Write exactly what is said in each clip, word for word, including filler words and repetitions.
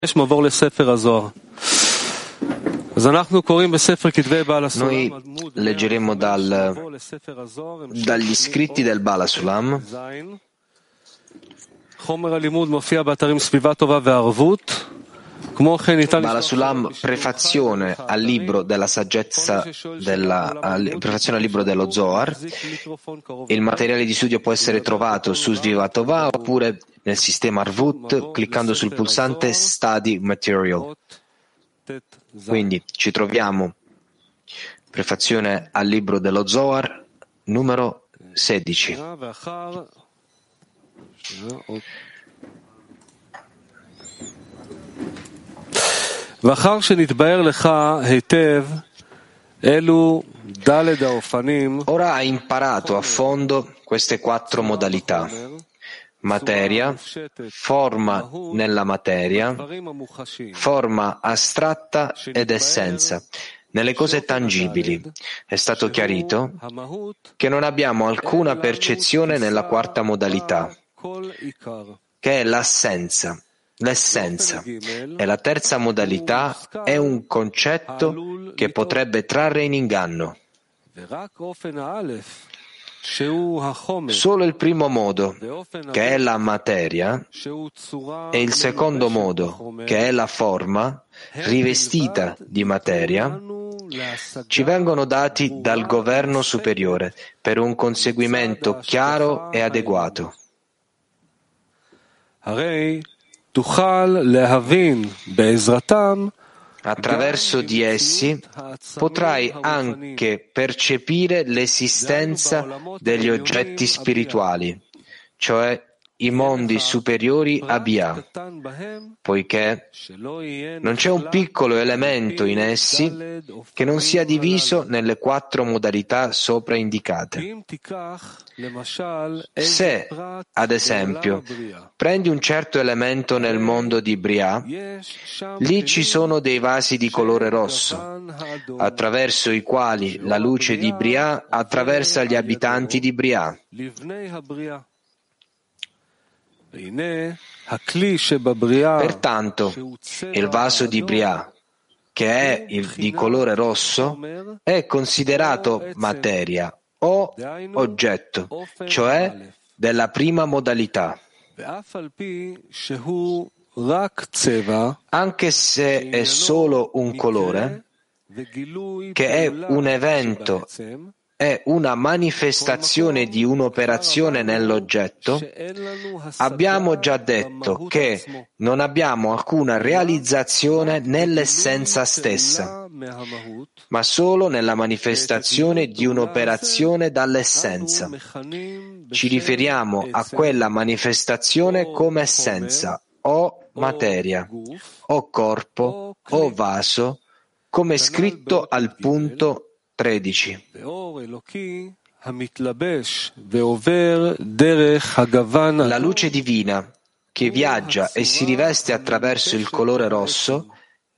Noi leggeremo dal, dagli scritti del Baal HaSulam. Baal HaSulam, prefazione al libro della saggezza, della, prefazione al libro dello Zohar. Il materiale di studio può essere trovato su Svivatová oppure nel sistema Arvut cliccando sul pulsante Study Material. Quindi ci troviamo prefazione al libro dello Zohar numero sedici. Ora hai imparato a fondo queste quattro modalità: materia, forma nella materia, forma astratta ed essenza. Nelle cose tangibili è stato chiarito che non abbiamo alcuna percezione nella quarta modalità, che è l'assenza, l'essenza. E la terza modalità è un concetto che potrebbe trarre in inganno. Solo il primo modo, che è la materia, e il secondo modo, che è la forma, rivestita di materia, ci vengono dati dal governo superiore per un conseguimento chiaro e adeguato. Attraverso di essi potrai anche percepire l'esistenza degli oggetti spirituali, cioè i mondi superiori a Bia, poiché non c'è un piccolo elemento in essi che non sia diviso nelle quattro modalità sopra indicate. Se, ad esempio, prendi un certo elemento nel mondo di Bria, lì ci sono dei vasi di colore rosso, attraverso i quali la luce di Bria attraversa gli abitanti di Bria. Pertanto, il vaso di Bria, che è il, di colore rosso, è considerato materia o oggetto, cioè della prima modalità. Anche se è solo un colore, che è un evento, è una manifestazione di un'operazione nell'oggetto, abbiamo già detto che non abbiamo alcuna realizzazione nell'essenza stessa, ma solo nella manifestazione di un'operazione dall'essenza. Ci riferiamo a quella manifestazione come essenza, o materia, o corpo, o vaso, come scritto al punto tredici. La luce divina che viaggia e si riveste attraverso il colore rosso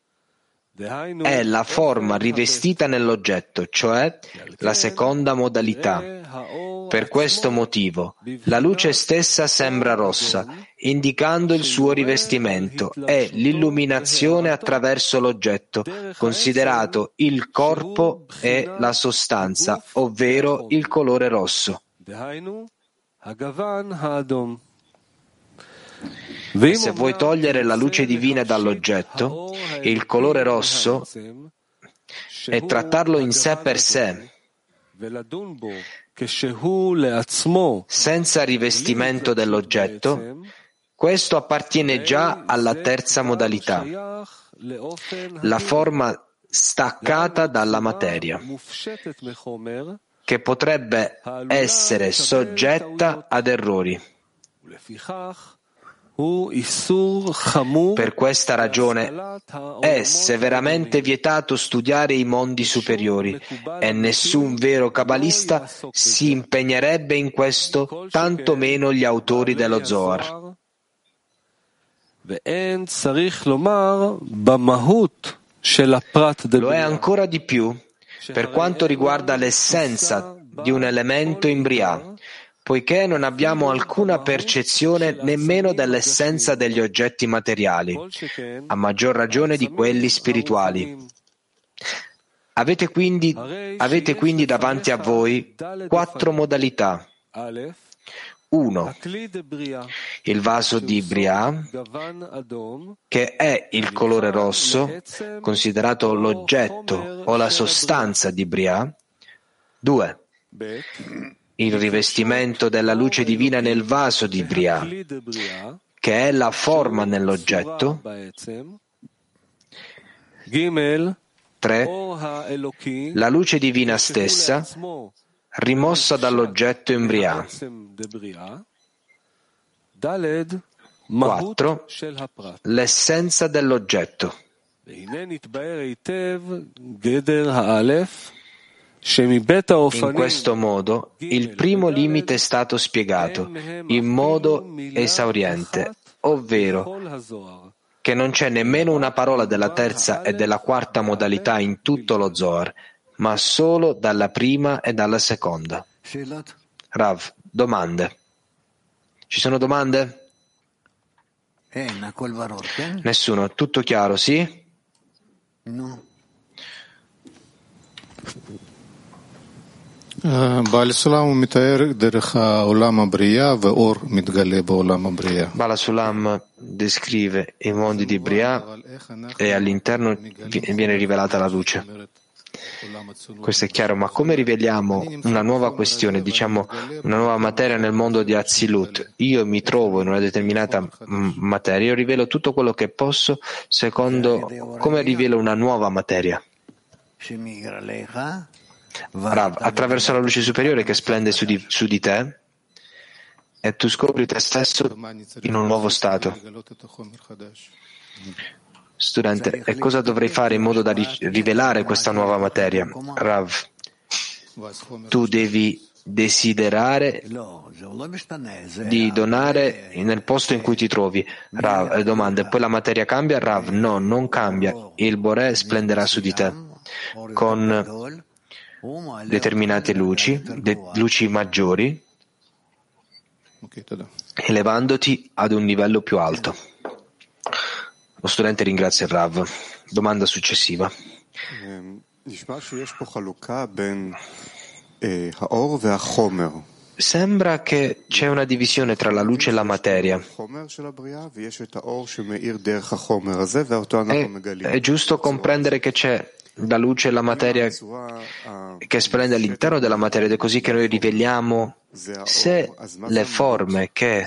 è la forma rivestita nell'oggetto, cioè la seconda modalità. Per questo motivo, la luce stessa sembra rossa, indicando il suo rivestimento e l'illuminazione attraverso l'oggetto, considerato il corpo e la sostanza, ovvero il colore rosso. E se vuoi togliere la luce divina dall'oggetto, il colore rosso, e trattarlo in sé per sé, senza rivestimento dell'oggetto, questo appartiene già alla terza modalità, la forma staccata dalla materia, che potrebbe essere soggetta ad errori. Per questa ragione è severamente vietato studiare i mondi superiori e nessun vero kabbalista si impegnerebbe in questo, tanto meno gli autori dello Zohar. Lo è ancora di più per quanto riguarda l'essenza di un elemento in Bria, poiché non abbiamo alcuna percezione nemmeno dell'essenza degli oggetti materiali, a maggior ragione di quelli spirituali. Avete quindi, avete quindi davanti a voi quattro modalità. uno. Il vaso di Briah, che è il colore rosso, considerato l'oggetto o la sostanza di Briah. due. Il rivestimento della luce divina nel vaso di Briah, che è la forma nell'oggetto. tre. La luce divina stessa, rimossa dall'oggetto in Briah. quattro. L'essenza dell'oggetto. In questo modo, il primo limite è stato spiegato in modo esauriente, ovvero che non c'è nemmeno una parola della terza e della quarta modalità in tutto lo Zohar, ma solo dalla prima e dalla seconda. Rav, domande. Ci sono domande? Nessuno. Tutto chiaro, sì? No. Bala Sulam descrive i mondi di Briah e all'interno viene rivelata la luce. Questo è chiaro, ma come riveliamo una nuova questione, diciamo una nuova materia nel mondo di Azilut? Io mi trovo in una determinata materia, io rivelo tutto quello che posso secondo come rivelo una nuova materia. Rav, attraverso la luce superiore che splende su di, su di te, e tu scopri te stesso in un nuovo stato. Studente, e cosa dovrei fare in modo da ri- rivelare questa nuova materia? Rav, tu devi desiderare di donare nel posto in cui ti trovi. Rav, eh, domanda, poi la materia cambia? Rav, no, non cambia. Il Boré splenderà su di te con determinate luci, de- luci maggiori, elevandoti ad un livello più alto. Lo studente ringrazia il Rav. Domanda successiva. Sembra che c'è una divisione tra la luce e la materia. È, è giusto comprendere che c'è la luce e la materia che splende all'interno della materia, ed è così che noi riveliamo se le forme che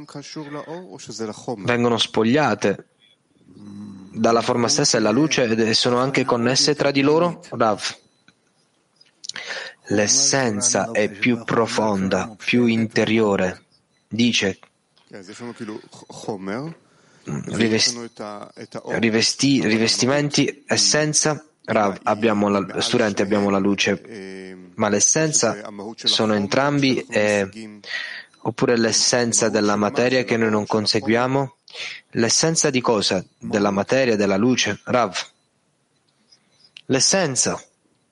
vengono spogliate dalla forma stessa e la luce sono anche connesse tra di loro? Rav, l'essenza è più profonda, più interiore. Dice rivesti, rivesti, rivestimenti, essenza. Rav, abbiamo la, studente, abbiamo la luce, ma l'essenza sono entrambi, eh, oppure l'essenza della materia che noi non conseguiamo? L'essenza di cosa? Della materia, della luce? Rav, l'essenza.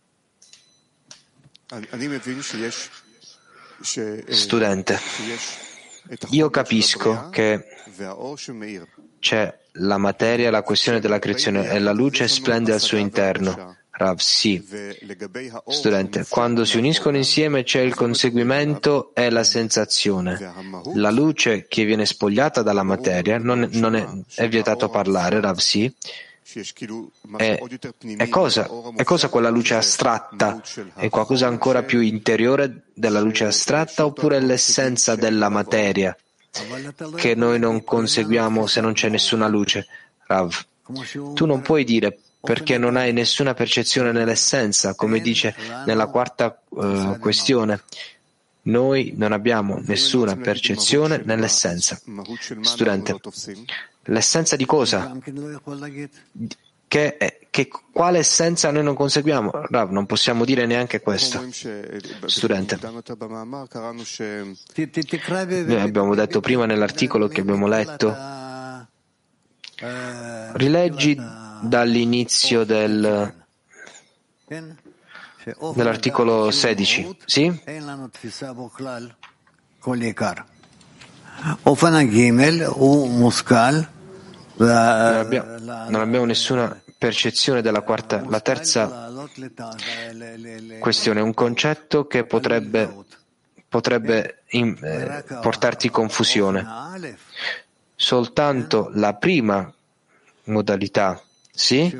Studente, io capisco che c'è la materia, la questione della creazione, e la luce splende al suo interno. Rav, sì. Studente, quando si uniscono insieme c'è il conseguimento e la sensazione. La luce che viene spogliata dalla materia, non, non è, è vietato parlare, Rav, sì. È, è, cosa, è cosa quella luce astratta? È qualcosa ancora più interiore della luce astratta, oppure è l'essenza della materia che noi non conseguiamo se non c'è nessuna luce? Rav, tu non puoi dire perché non hai nessuna percezione nell'essenza, come dice nella quarta uh, questione. Noi non abbiamo nessuna percezione nell'essenza. Studente, l'essenza di cosa? Che, è, che quale essenza noi non conseguiamo? Rav, non possiamo dire neanche questo. Studente, noi abbiamo detto prima nell'articolo che abbiamo letto, rileggi dall'inizio del, dell'articolo sedici, sì? Non abbiamo, non abbiamo nessuna percezione della quarta. La terza questione è un concetto che potrebbe, potrebbe in, eh, portarti confusione. Soltanto la prima modalità, sì,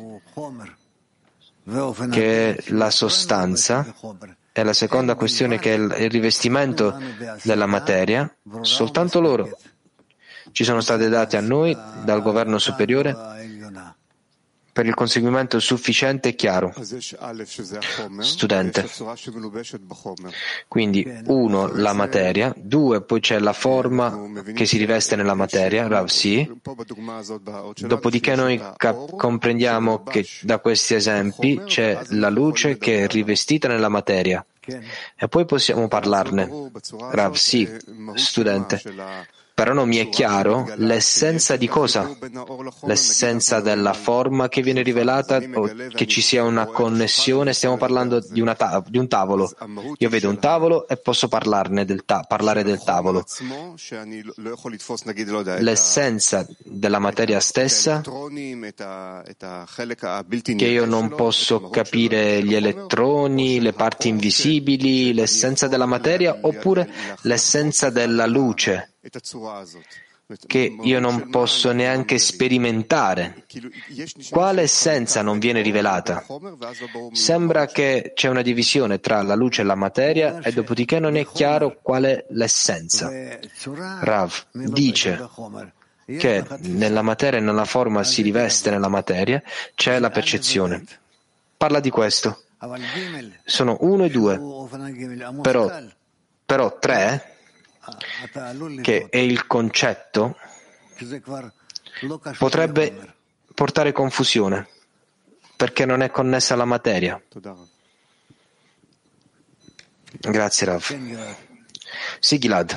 che è la sostanza, e la seconda questione che è il rivestimento della materia, soltanto loro ci sono state date a noi dal governo superiore per il conseguimento sufficiente e chiaro. Studente. Quindi, uno, la materia, due, poi c'è la forma che si riveste nella materia, Rav, sì. Dopodiché noi cap- comprendiamo che da questi esempi c'è la luce che è rivestita nella materia. E poi possiamo parlarne. Rav, sì, studente. Però non mi è chiaro l'essenza di cosa? L'essenza della forma che viene rivelata o che ci sia una connessione? Stiamo parlando di, una ta- di un tavolo. Io vedo un tavolo e posso parlarne del ta- parlare del tavolo. L'essenza della materia stessa, che io non posso capire gli elettroni, le parti invisibili, l'essenza della materia, oppure l'essenza della luce, che io non posso neanche sperimentare. Quale essenza non viene rivelata? Sembra che c'è una divisione tra la luce e la materia e dopodiché non è chiaro qual è l'essenza. Rav dice che nella materia e nella forma si riveste nella materia, c'è la percezione. Parla di questo. Sono uno e due, però, però tre, che è il concetto, potrebbe portare confusione perché non è connessa alla materia. Grazie, Rav. Sì, Gilad.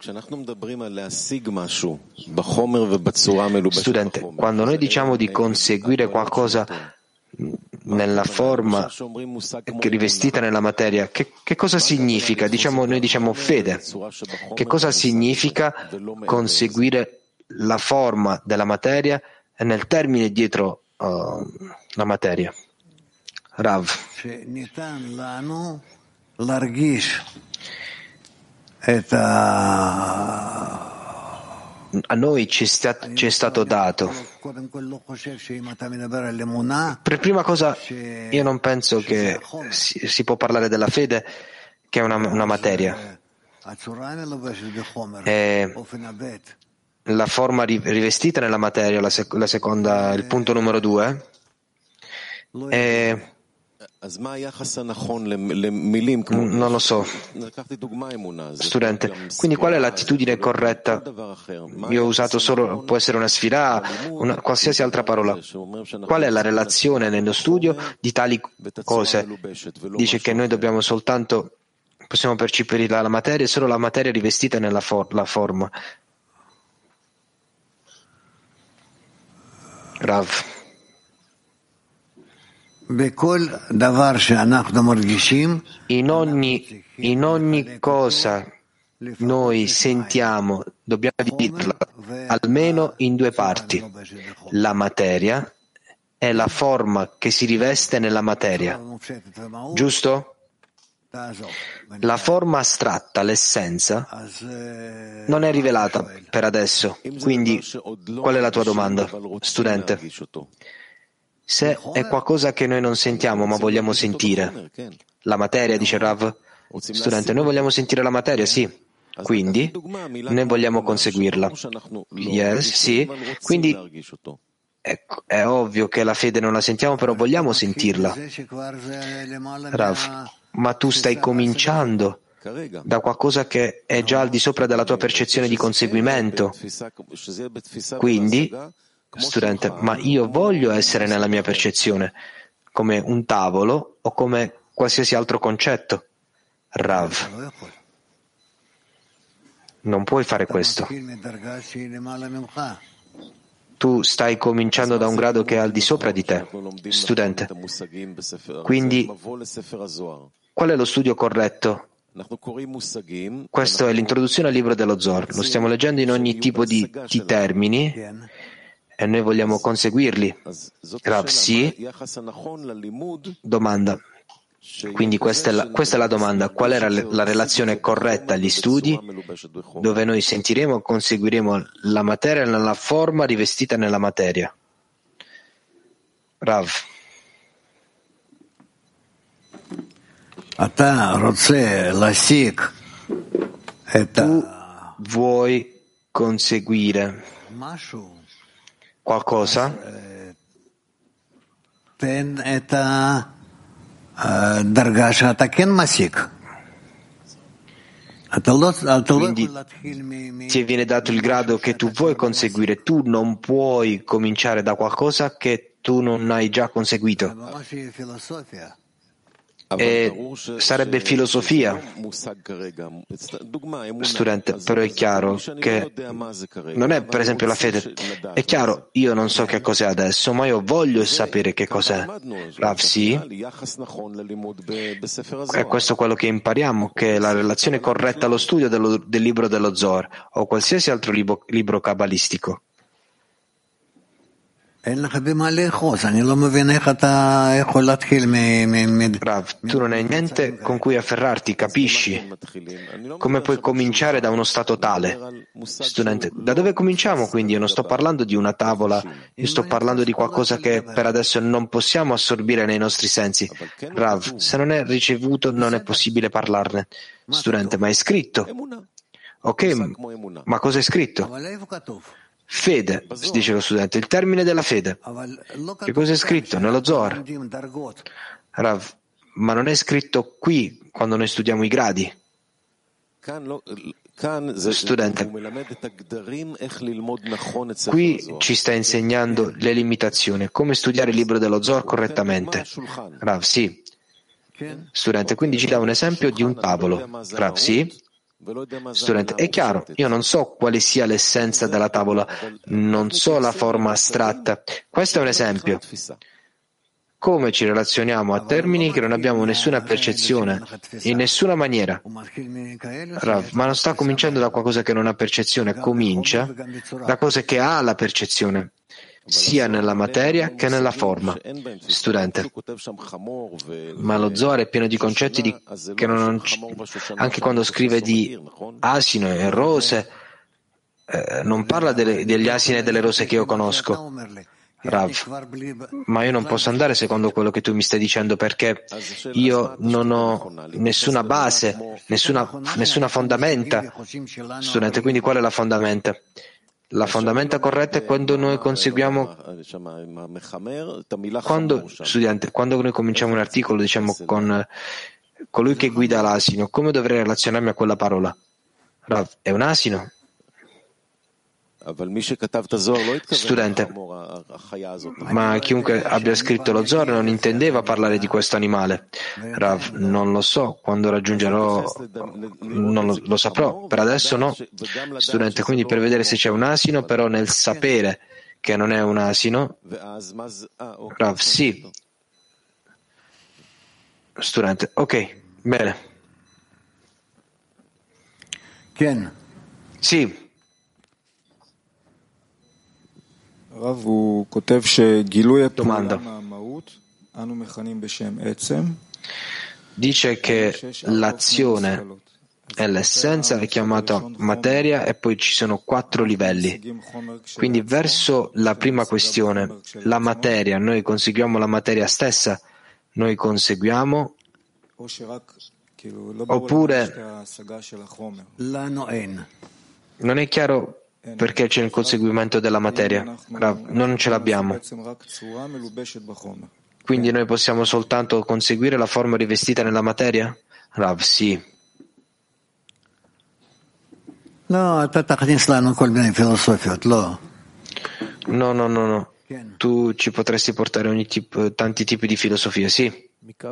Studente, quando noi diciamo di conseguire qualcosa nella forma rivestita nella materia, che, che cosa significa? Diciamo, noi diciamo fede. Che cosa significa conseguire la forma della materia e nel termine dietro uh, la materia? Rav. A noi ci, sta, ci è stato dato. Per prima cosa, io non penso che si, si può parlare della fede, che è una, una materia. È la forma rivestita nella materia, la, sec- la seconda, il punto numero due. È Non lo so, studente. Quindi qual è l'attitudine corretta? Io ho usato solo, può essere una sfida, una, qualsiasi altra parola. Qual è la relazione nello studio di tali cose? Dice che noi dobbiamo soltanto, possiamo percepire la materia e solo la materia rivestita nella for- la forma. Rav. In ogni, in ogni cosa noi sentiamo, dobbiamo dividerla almeno in due parti, la materia e la forma che si riveste nella materia. Giusto? La forma astratta, l'essenza, non è rivelata per adesso. Quindi, qual è la tua domanda, studente? Se è qualcosa che noi non sentiamo ma vogliamo sentire, la materia, dice Rav, studente, noi vogliamo sentire la materia, sì, quindi noi vogliamo conseguirla. Yes, sì, quindi è, è ovvio che la fede non la sentiamo, però vogliamo sentirla. Rav, ma tu stai cominciando da qualcosa che è già al di sopra della tua percezione di conseguimento. Quindi, studente, ma io voglio essere nella mia percezione come un tavolo o come qualsiasi altro concetto. Rav, non puoi fare questo. Tu stai cominciando da un grado che è al di sopra di te, studente. Quindi, qual è lo studio corretto Questa è l'introduzione al libro dello Zohar. Lo stiamo leggendo in ogni tipo di, di termini e noi vogliamo conseguirli. Rav, sì. Domanda. Quindi questa è, la, questa è la domanda. Qual era la relazione corretta agli studi dove noi sentiremo e conseguiremo la materia nella forma rivestita nella materia? Rav. Tu vuoi conseguire qualcosa? Quindi ti viene dato il grado che tu vuoi conseguire, tu non puoi cominciare da qualcosa che tu non hai già conseguito. E sarebbe filosofia. Studente, però è chiaro che non è per esempio la fede. È chiaro, io non so che cos'è adesso, ma io voglio sapere che cos'è. Rav, sì. È questo quello che impariamo, che la relazione corretta allo studio dello, del libro dello Zohar o qualsiasi altro libro, libro cabalistico. Rav, tu non hai niente con cui afferrarti, capisci? Come puoi cominciare da uno stato tale? Studente, da dove cominciamo quindi? Io non sto parlando di una tavola, io sto parlando di qualcosa che per adesso non possiamo assorbire nei nostri sensi. Rav, se non è ricevuto non è possibile parlarne. Studente, ma è scritto. Ok, ma cosa è scritto? Fede, dice lo studente, il termine della fede. Che cosa è scritto? Nello Zohar. Rav, ma non è scritto qui quando noi studiamo i gradi. Studente, qui ci sta insegnando le limitazioni, come studiare il libro dello Zohar correttamente. Rav, sì. Studente, quindi ci dà un esempio di un tavolo. Rav, sì. Studente, è chiaro, io non so quale sia l'essenza della tavola, non so la forma astratta. Questo è un esempio. Come ci relazioniamo a termini che non abbiamo nessuna percezione, in nessuna maniera. Rav, ma non sta cominciando da qualcosa che non ha percezione, comincia da cose che ha la percezione, sia nella materia che nella forma. Studente, ma lo Zohar è pieno di concetti di, che non, anche quando scrive di asino e rose, eh, non parla delle, degli asini e delle rose che io conosco. Rav, ma io non posso andare secondo quello che tu mi stai dicendo perché io non ho nessuna base, nessuna, nessuna fondamenta. Studente, quindi qual è la fondamenta? La fondamenta corretta è quando noi conseguiamo, quando, studente, quando noi cominciamo un articolo, diciamo, con colui che guida l'asino, come dovrei relazionarmi a quella parola? Rav, è un asino? Studente, ma chiunque abbia scritto lo Zohar non intendeva parlare di questo animale. Rav, non lo so, quando raggiungerò non lo, lo saprò, per adesso no. Studente, quindi per vedere se c'è un asino, però nel sapere che non è un asino, Rav, sì. Studente, ok, bene. Sì. Domanda. Dice che l'azione e l'essenza è chiamata materia e poi ci sono quattro livelli. Quindi verso la prima questione, la materia, noi conseguiamo la materia stessa, noi conseguiamo oppure non è chiaro perché c'è il conseguimento della materia. Rav, non ce l'abbiamo. Quindi noi possiamo soltanto conseguire la forma rivestita nella materia? Rav, sì. No, no, no, no. Tu ci potresti portare ogni tipo, tanti tipi di filosofia, sì.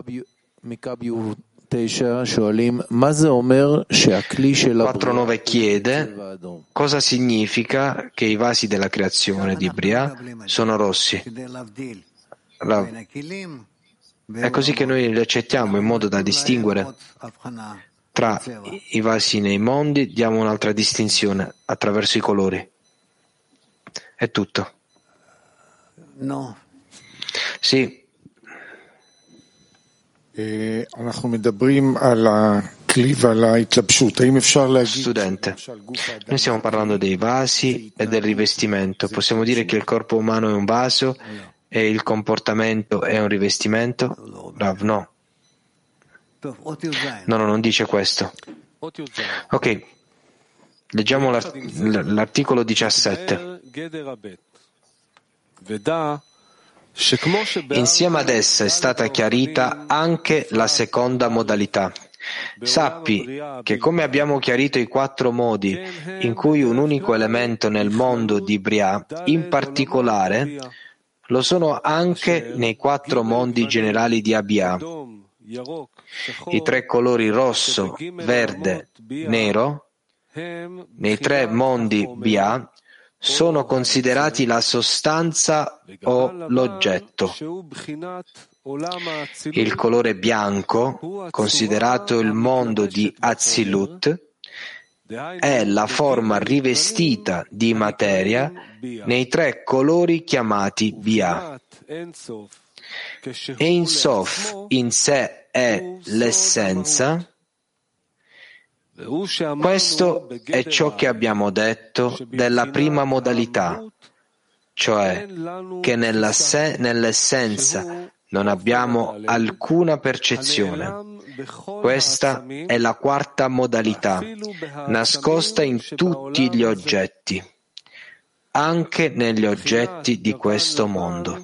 quattro nove chiede cosa significa che i vasi della creazione di Bria sono rossi. È così che noi li accettiamo in modo da distinguere tra i vasi nei mondi diamo un'altra distinzione attraverso i colori. È tutto. No. Sì. Studente, noi stiamo parlando dei vasi e del rivestimento. Possiamo dire che il corpo umano è un vaso e il comportamento è un rivestimento? Rav, no. No, no, non dice questo. Ok, leggiamo l'art- l'articolo diciassette. Insieme ad essa è stata chiarita anche la seconda modalità. Sappi che come abbiamo chiarito i quattro modi in cui un unico elemento nel mondo di Briah, in particolare, lo sono anche nei quattro mondi generali di Abia. I tre colori rosso, verde, nero, nei tre mondi Bia, sono considerati la sostanza o l'oggetto. Il colore bianco, considerato il mondo di Atzilut, è la forma rivestita di materia nei tre colori chiamati Bia. Ein Sof in sé è l'essenza. Questo è ciò che abbiamo detto della prima modalità, cioè che nella se- nell'essenza non abbiamo alcuna percezione. Questa è la quarta modalità, nascosta in tutti gli oggetti, anche negli oggetti di questo mondo.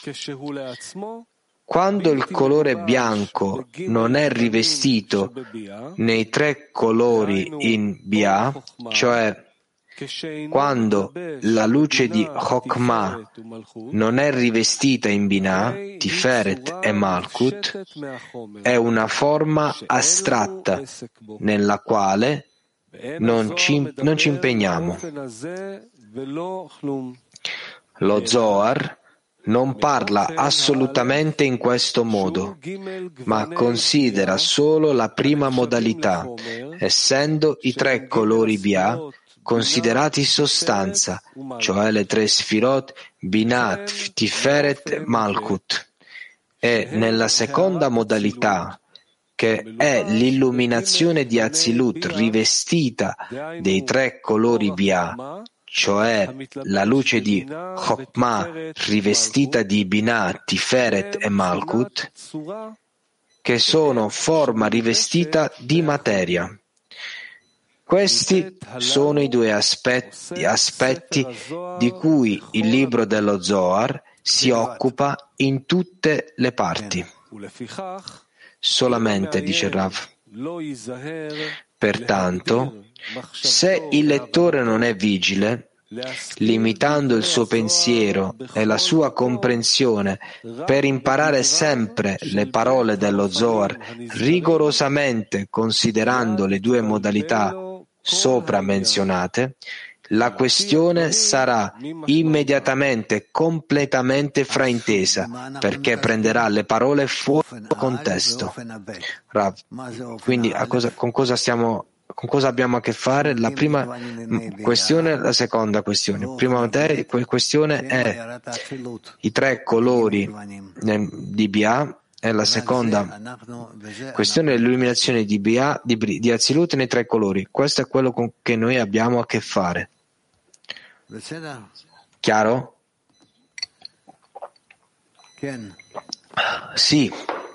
Quando il colore bianco non è rivestito nei tre colori in Bia, cioè quando la luce di Chokmah non è rivestita in Binah, Tiferet e Malkut, è una forma astratta nella quale non ci, non ci impegniamo. Lo Zohar non parla assolutamente in questo modo, ma considera solo la prima modalità, essendo i tre colori Bia considerati sostanza, cioè le tre Sfirot, Binah, Tiferet e Malkut. E nella seconda modalità, che è l'illuminazione di Atzilut rivestita dei tre colori Bia, cioè la luce di Chokmah rivestita di Binah, Tiferet e Malkut, che sono forma rivestita di materia. Questi sono i due aspetti, aspetti di cui il libro dello Zohar si occupa in tutte le parti. Solamente, dice Rav. Pertanto, se il lettore non è vigile, limitando il suo pensiero e la sua comprensione per imparare sempre le parole dello Zohar, rigorosamente considerando le due modalità sopra menzionate, la questione sarà immediatamente completamente fraintesa, perché prenderà le parole fuori contesto. Rav, quindi a cosa, con cosa stiamo Con cosa abbiamo a che fare? La prima questione e la seconda questione. Prima materia, questione è i tre colori di Bia, e la seconda questione è l'illuminazione di Bia, di, di Atzilut nei tre colori. Questo è quello con che noi abbiamo a che fare. Chiaro? Sì.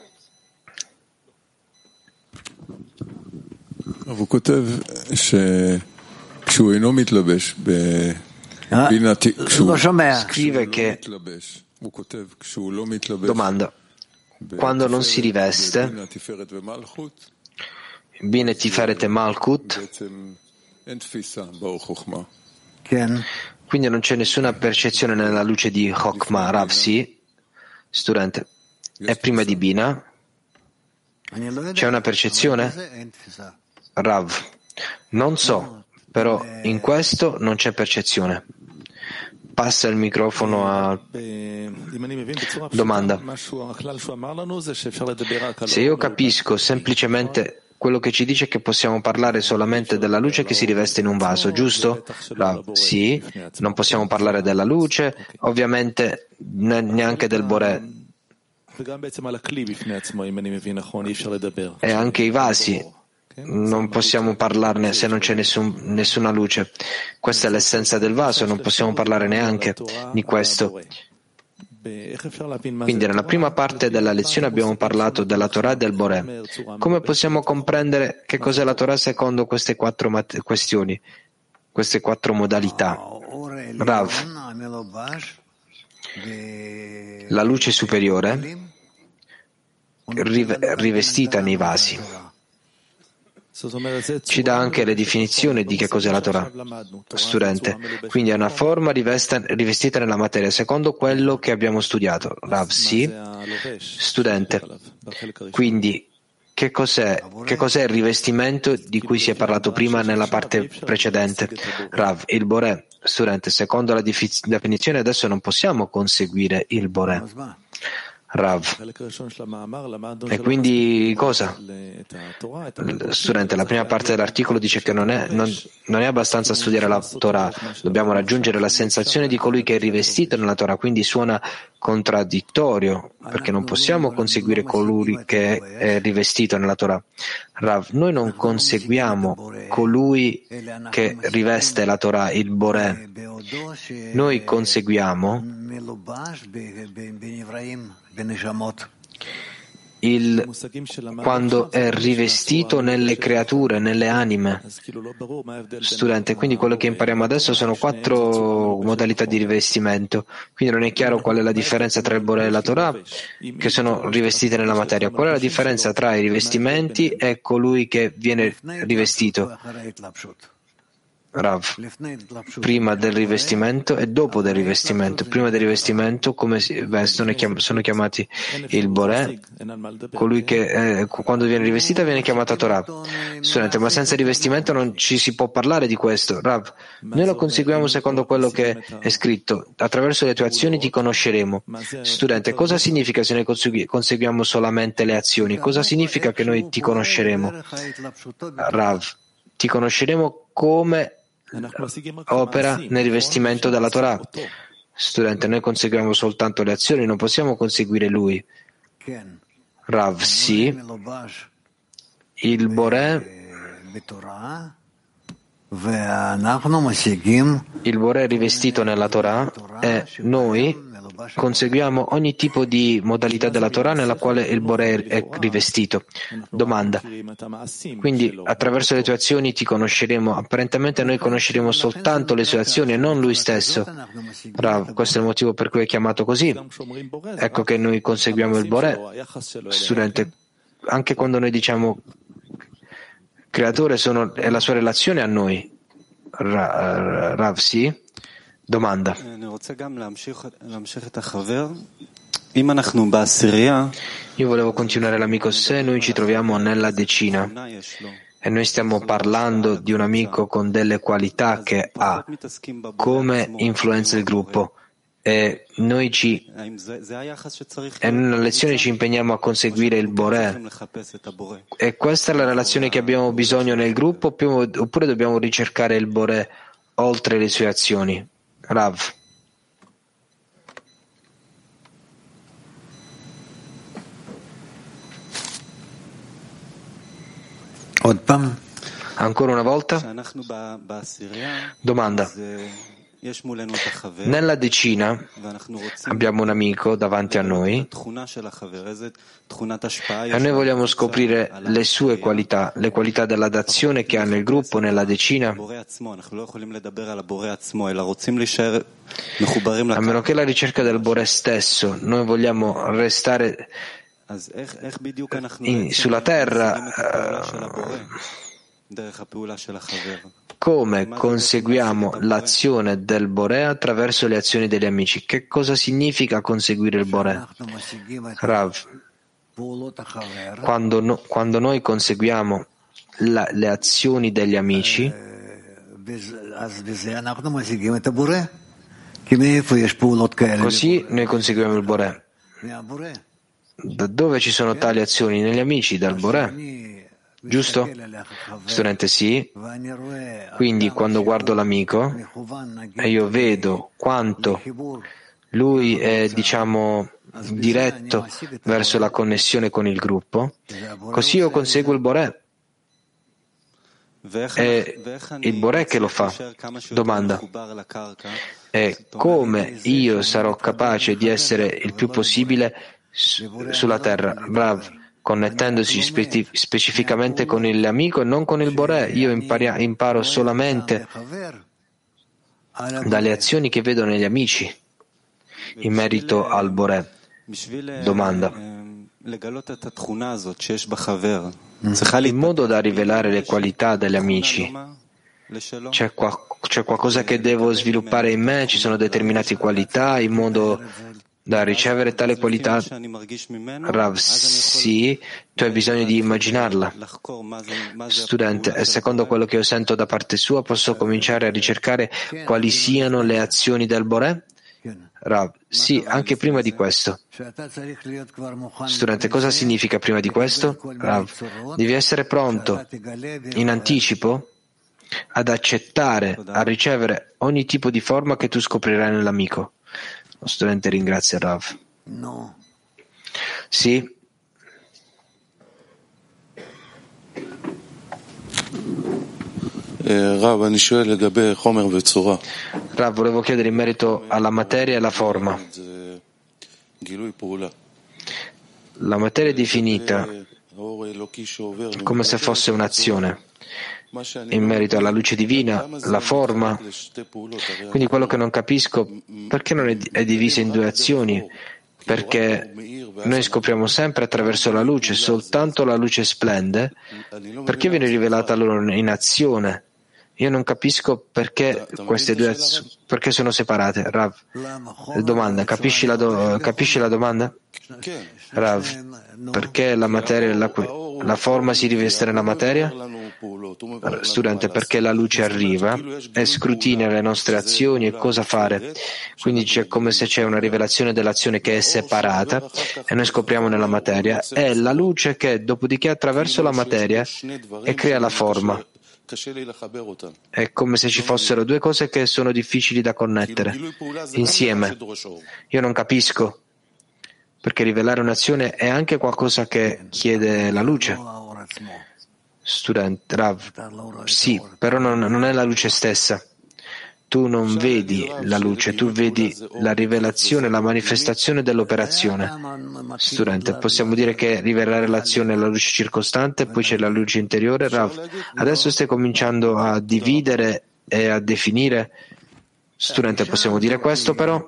הוא כותב שכשהוא אינו מתלבש בבינה, כשהוא scrive che הוא כותב כשהוא לא מתלבש domanda quando non si riveste Bina, Tiferet e Malkut, אין תפיסה באור חוכמה. quindi non c'è nessuna percezione nella luce di Chokmah. Rav, sì. Studente, è prima di Bina. C'è una percezione? Rav, non so, però in questo non c'è percezione. Passa il microfono a domanda. Se io capisco semplicemente quello che ci dice è che possiamo parlare solamente della luce che si riveste in un vaso, giusto? Rav, sì, non possiamo parlare della luce, ovviamente neanche del Boré. E anche i vasi, non possiamo parlarne se non c'è nessun, nessuna luce. Questa è l'essenza del vaso, non possiamo parlare neanche di questo. Quindi nella prima parte della lezione abbiamo parlato della Torah e del Boré. Come possiamo comprendere che cos'è la Torah secondo queste quattro mat- questioni, queste quattro modalità? Rav, la luce superiore rive- rivestita nei vasi. Ci dà anche le definizioni di che cos'è la Torah. Studente, quindi è una forma rivesta, rivestita nella materia, secondo quello che abbiamo studiato. Rav, sì. Studente, quindi che cos'è, che cos'è il rivestimento di cui si è parlato prima nella parte precedente? Rav, il Boré. Studente, secondo la definizione adesso non possiamo conseguire il Boré. Rav. E quindi cosa? Studente, la prima parte dell'articolo dice che non è, non, non è abbastanza studiare la Torah, dobbiamo raggiungere la sensazione di colui che è rivestito nella Torah, quindi suona contraddittorio, perché non possiamo conseguire colui che è rivestito nella Torah. Rav, noi non conseguiamo colui che riveste la Torah, il Boré. Noi conseguiamo il, quando è rivestito nelle creature, nelle anime. Studente, quindi quello che impariamo adesso sono quattro modalità di rivestimento, quindi non è chiaro qual è la differenza tra il Boré e la Torah, che sono rivestite nella materia. Qual è la differenza tra i rivestimenti e colui che viene rivestito? Rav, prima del rivestimento e dopo del rivestimento. Prima del rivestimento, come si vestono, sono chiamati il Boré, colui che eh, quando viene rivestita viene chiamata Torah. Studente, ma senza rivestimento non ci si può parlare di questo. Rav, noi lo conseguiamo secondo quello che è scritto. Attraverso le tue azioni ti conosceremo. Studente, cosa significa se noi conseguiamo solamente le azioni? Cosa significa che noi ti conosceremo? Rav, ti conosceremo come opera nel rivestimento della Torah. Studente, noi conseguiamo soltanto le azioni, non possiamo conseguire lui. Rav, sì. Il Boré, il Boré è rivestito nella Torah e noi conseguiamo ogni tipo di modalità della Torah nella quale il Boré è rivestito. Domanda. Quindi attraverso le tue azioni ti conosceremo. Apparentemente noi conosceremo soltanto le sue azioni e non lui stesso. Rav, questo è il motivo per cui è chiamato così. Ecco che noi conseguiamo il Boré. Studente, anche quando noi diciamo creatore sono, è la sua relazione a noi. Ra, Rav, sì. Domanda. Io volevo continuare l'amico. Se noi ci troviamo nella decina e noi stiamo parlando di un amico con delle qualità che ha, come influenza il gruppo, e noi ci e nella lezione ci impegniamo a conseguire il Boré, e questa è la relazione che abbiamo bisogno nel gruppo, oppure dobbiamo ricercare il Boré oltre le sue azioni? Rav. Ancora una volta? Domanda. Nella decina abbiamo un amico davanti a noi e noi vogliamo scoprire le sue qualità, le qualità della d'azione che ha nel gruppo, nella decina. A meno che la ricerca del Boré stesso, noi vogliamo restare in, sulla terra. Come conseguiamo l'azione del Boré attraverso le azioni degli amici? Che cosa significa conseguire il Boré? Rav, quando, no, quando noi conseguiamo la, le azioni degli amici, così noi conseguiamo il Boré. Da dove ci sono tali azioni? Negli amici, dal Boré. giusto? Studente, sì. Quindi quando guardo l'amico e io vedo quanto lui è, diciamo, diretto verso la connessione con il gruppo, così io conseguo il Boré. È il Boré che lo fa. Domanda. E come io sarò capace di essere il più possibile su- sulla terra? Rav, connettendosi spe- specificamente con l'amico e non con il Boré. Io impari- imparo solamente dalle azioni che vedo negli amici in merito al Boré. Domanda. In modo da rivelare le qualità degli amici, c'è, qua, c'è qualcosa che devo sviluppare in me? Ci sono determinate qualità in modo da ricevere tale qualità? Rav, sì, tu hai bisogno di immaginarla. Studente, e secondo quello che io sento da parte sua, posso cominciare a ricercare quali siano le azioni del Boré? Rav, sì, anche prima di questo. Studente, cosa significa prima di questo? Rav, devi essere pronto in anticipo ad accettare, a ricevere ogni tipo di forma che tu scoprirai nell'amico. Lo studente ringrazia Rav. No. Sì. Rav, volevo chiedere in merito alla materia e alla forma. La materia è definita come se fosse un'azione. In merito alla luce divina, la forma. Quindi quello che non capisco, perché non è, è divisa in due azioni? Perché noi scopriamo sempre attraverso la luce, soltanto la luce splende, perché viene rivelata loro in azione? Io non capisco perché queste due azioni, perché sono separate. Rav, domanda, capisci la, do, capisci la domanda? Rav, perché la materia, la, la forma si riveste nella materia? Studente, perché la luce arriva e scrutina le nostre azioni e cosa fare. Quindi c'è come se c'è una rivelazione dell'azione che è separata e noi scopriamo nella materia. È la luce che dopodiché attraverso la materia e crea la forma. È come se ci fossero due cose che sono difficili da connettere insieme. Io non capisco, perché rivelare un'azione è anche qualcosa che chiede la luce. Studente, Rav, sì, però non, non è la luce stessa. Tu non vedi la luce, tu vedi la rivelazione, la manifestazione dell'operazione. Studente, possiamo dire che rivelare l'azione è la luce circostante e poi c'è la luce interiore. Rav, adesso stai cominciando a dividere e a definire. Studente, possiamo dire questo però?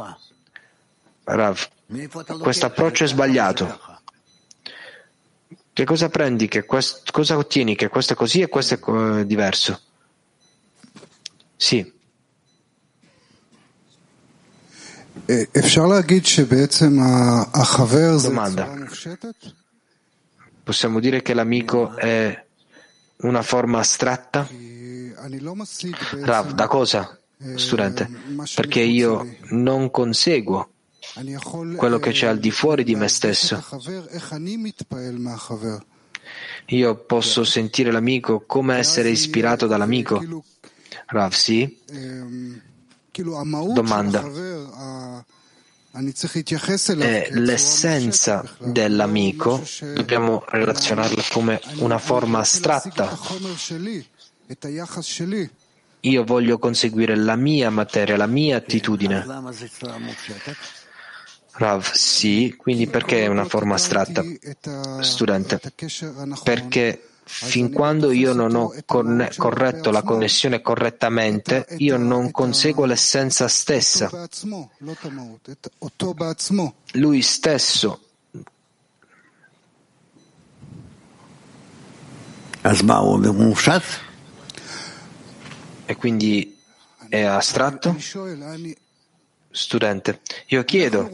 Rav, questo approccio è sbagliato. Che cosa prendi? Che quest- cosa ottieni? Che questo è così e questo è co- diverso? Sì. Domanda. Possiamo dire che l'amico è una forma astratta? Rav, da cosa? Studente, perché io non conseguo quello che c'è al di fuori di me stesso. Io posso sentire l'amico come essere ispirato dall'amico. Rav, sì? Domanda. E l'essenza dell'amico dobbiamo relazionarla come una forma astratta. Io voglio conseguire la mia materia, la mia attitudine. Rav, sì, quindi perché è una forma astratta? Studente, perché fin quando io non ho conne- corretto la connessione correttamente, io non conseguo l'essenza stessa. Lui stesso. E quindi è astratto? Studente, io chiedo,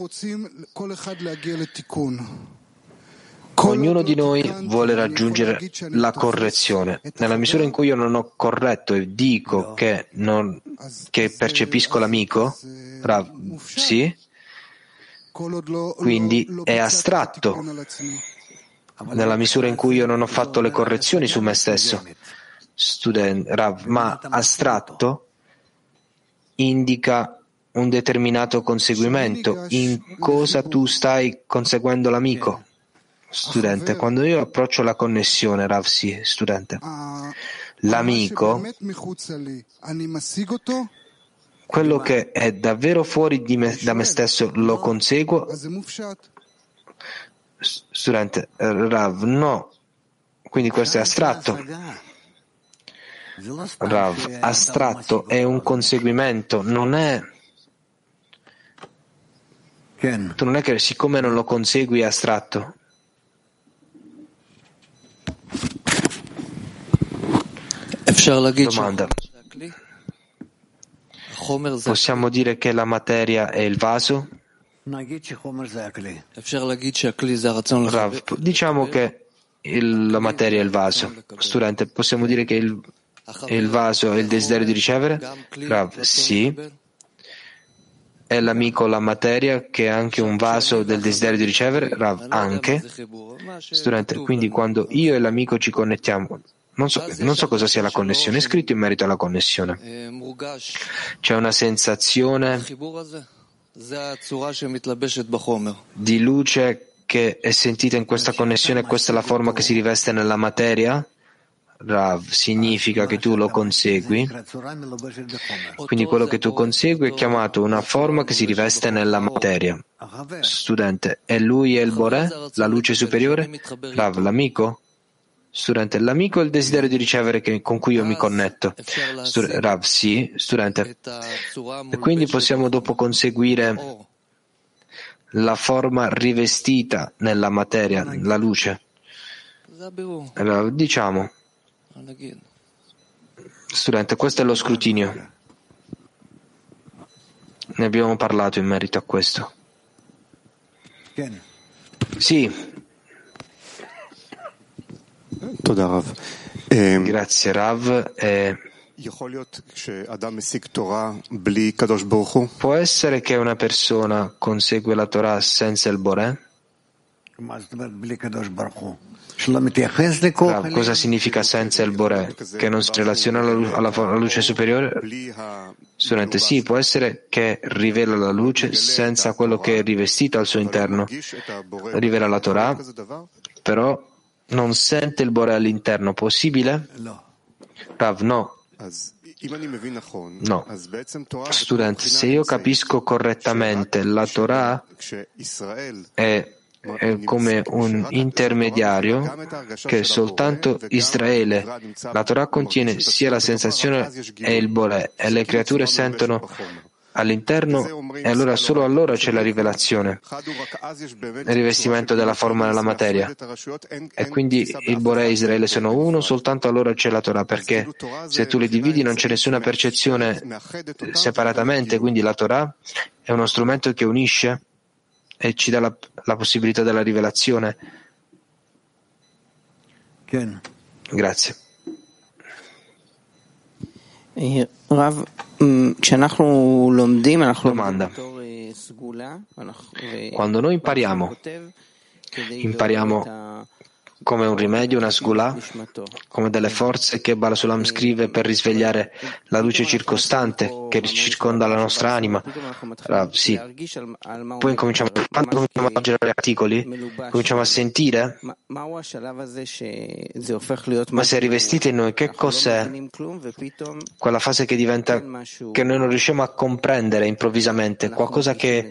ognuno di noi vuole raggiungere la correzione. Nella misura in cui io non ho corretto e dico che, non, che percepisco l'amico, Rav, sì? Quindi è astratto. nella misura in cui io non ho fatto le correzioni su me stesso. Student, Rav, ma astratto indica un determinato conseguimento. In cosa tu stai conseguendo l'amico? Studente, quando io approccio la connessione, Rav, sì, studente, l'amico, quello che è davvero fuori di me, da me stesso, lo conseguo? Studente, Rav, no. Quindi questo è astratto. Rav, astratto è un conseguimento, non è... Tu non è che siccome non lo consegui è astratto. Domanda. Possiamo dire che la materia è il vaso? Rav, diciamo che il, la materia è il vaso. Studente, possiamo dire che il, il vaso è il desiderio di ricevere? Rav, sì. È l'amico la materia che è anche un vaso del desiderio di ricevere? Rav, anche. Studente, quindi quando io e l'amico ci connettiamo, non so, non so cosa sia la connessione, è scritto in merito alla connessione. C'è una sensazione di luce che è sentita in questa connessione e questa è la forma che si riveste nella materia? Rav, significa che tu lo consegui, quindi quello che tu consegui è chiamato una forma che si riveste nella materia. Studente, e lui è il Boré, la luce superiore? Rav, l'amico? Studente, l'amico è il desiderio di ricevere che, con cui io mi connetto. Stud- Rav, sì, studente. E quindi possiamo dopo conseguire la forma rivestita nella materia, la luce. Rav, diciamo. Studente, questo è lo scrutinio. Ne abbiamo parlato in merito a questo. Sì. Grazie Rav. Eh, può essere che una persona consegue la Torah senza il Boré? Rav, cosa significa senza il Boré? Che non si relaziona alla, lu- alla, alla luce superiore? Studente, sì, può essere che rivela la luce senza quello che è rivestito al suo interno. Rivela la Torah, però non sente il Boré all'interno. Possibile? Rav, no. No. Studente, se io capisco correttamente, la Torah è è come un intermediario che soltanto Israele. La Torah contiene sia la sensazione e il Boré e le creature sentono all'interno e allora solo allora c'è la rivelazione, il rivestimento della forma nella materia. E quindi il Boré e Israele sono uno, soltanto allora c'è la Torah, perché se tu le dividi non c'è nessuna percezione separatamente, quindi la Torah è uno strumento che unisce e ci dà la, la possibilità della rivelazione. Grazie. Domanda. Quando noi impariamo, impariamo come un rimedio, una sgulà, come delle forze che Baal Sulam scrive per risvegliare la luce circostante che circonda la nostra anima. Uh, sì. Poi incominciamo, quando cominciamo a leggere gli articoli, cominciamo a sentire, ma se è rivestita in noi, che cos'è quella fase che diventa, che noi non riusciamo a comprendere improvvisamente, qualcosa che,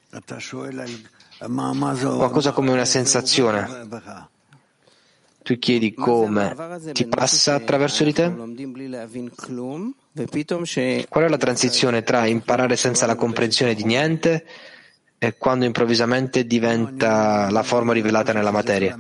qualcosa come una sensazione. Tu chiedi come ti passa attraverso di te? Qual è la transizione tra imparare senza la comprensione di niente e quando improvvisamente diventa la forma rivelata nella materia?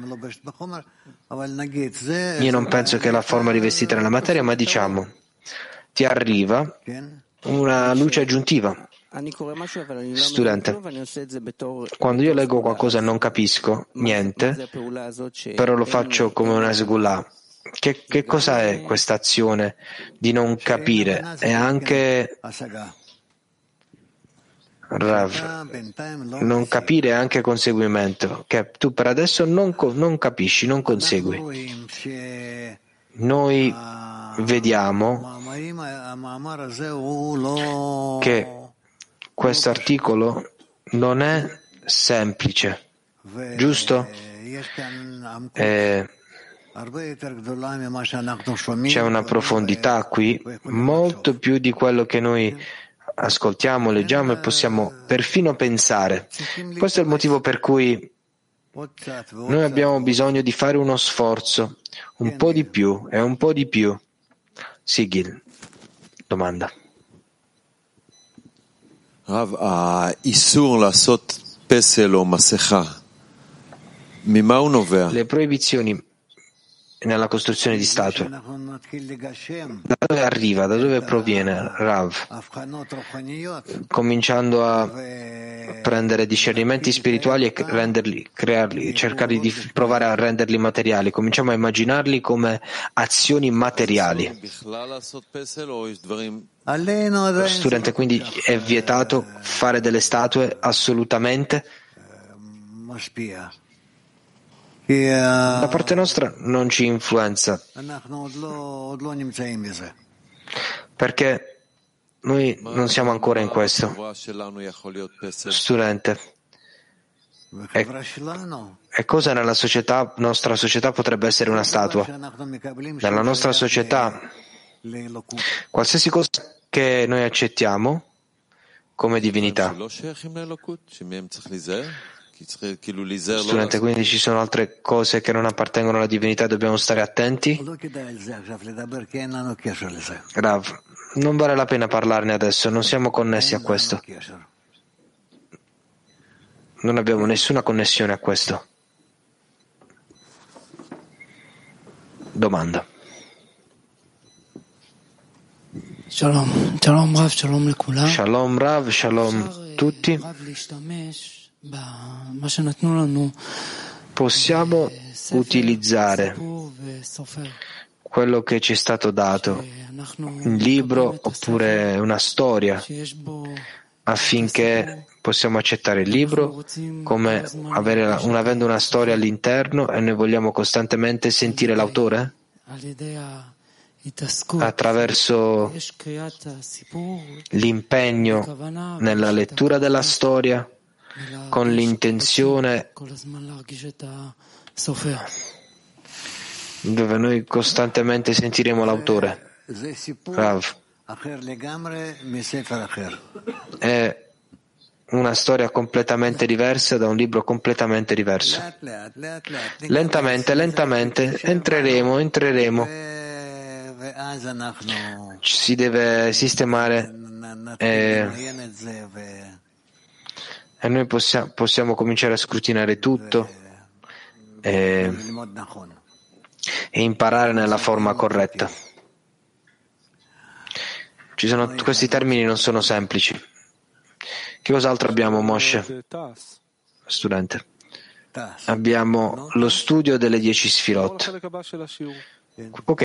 Io non penso che la forma rivestita nella materia, ma diciamo, ti arriva una luce aggiuntiva. Studente, quando io leggo qualcosa e non capisco niente, però lo faccio come una sgulà, che, che cosa è questa azione di non capire? È anche Rav, non capire anche conseguimento, che tu per adesso non, non capisci, non consegui. Noi vediamo che questo articolo non è semplice, giusto? E c'è una profondità qui, molto più di quello che noi ascoltiamo, leggiamo e possiamo perfino pensare. Questo è il motivo per cui noi abbiamo bisogno di fare uno sforzo, un po' di più e un po' di più. Sigil, domanda. Rav, האיסור לעשות פסל או מסכה, ממה הוא נובע? Le proibizioni nella costruzione di statue, da dove arriva, da dove proviene, Rav? Cominciando a prendere discernimenti spirituali e renderli, crearli, cercare di provare a renderli materiali, cominciamo a immaginarli come azioni materiali. Studente, quindi è vietato fare delle statue assolutamente? Da parte nostra non ci influenza, perché noi non siamo ancora in questo. Studente, e, e cosa nella società, nostra società potrebbe essere una statua? Nella nostra società, qualsiasi cosa che noi accettiamo come divinità. Studente, quindi ci sono altre cose che non appartengono alla divinità, dobbiamo stare attenti? Rav, non vale la pena parlarne adesso, non siamo connessi a questo. Non abbiamo nessuna connessione a questo. Domanda. Shalom, shalom Rav, shalom lekula. Shalom Rav, shalom tutti. Possiamo utilizzare quello che ci è stato dato, un libro oppure una storia, affinché possiamo accettare il libro come avere un, avendo una storia all'interno e noi vogliamo costantemente sentire l'autore? Attraverso l'impegno nella lettura della storia, con l'intenzione dove noi costantemente sentiremo l'autore. Rav, è una storia completamente diversa da un libro completamente diverso. Lentamente, lentamente entreremo, entreremo. Si deve sistemare e, e noi possiamo, possiamo cominciare a scrutinare tutto e, e imparare nella forma corretta. Ci sono, questi termini non sono semplici. Che cos'altro abbiamo, Moshe? Studente. Abbiamo lo studio delle dieci sfirot. Ok.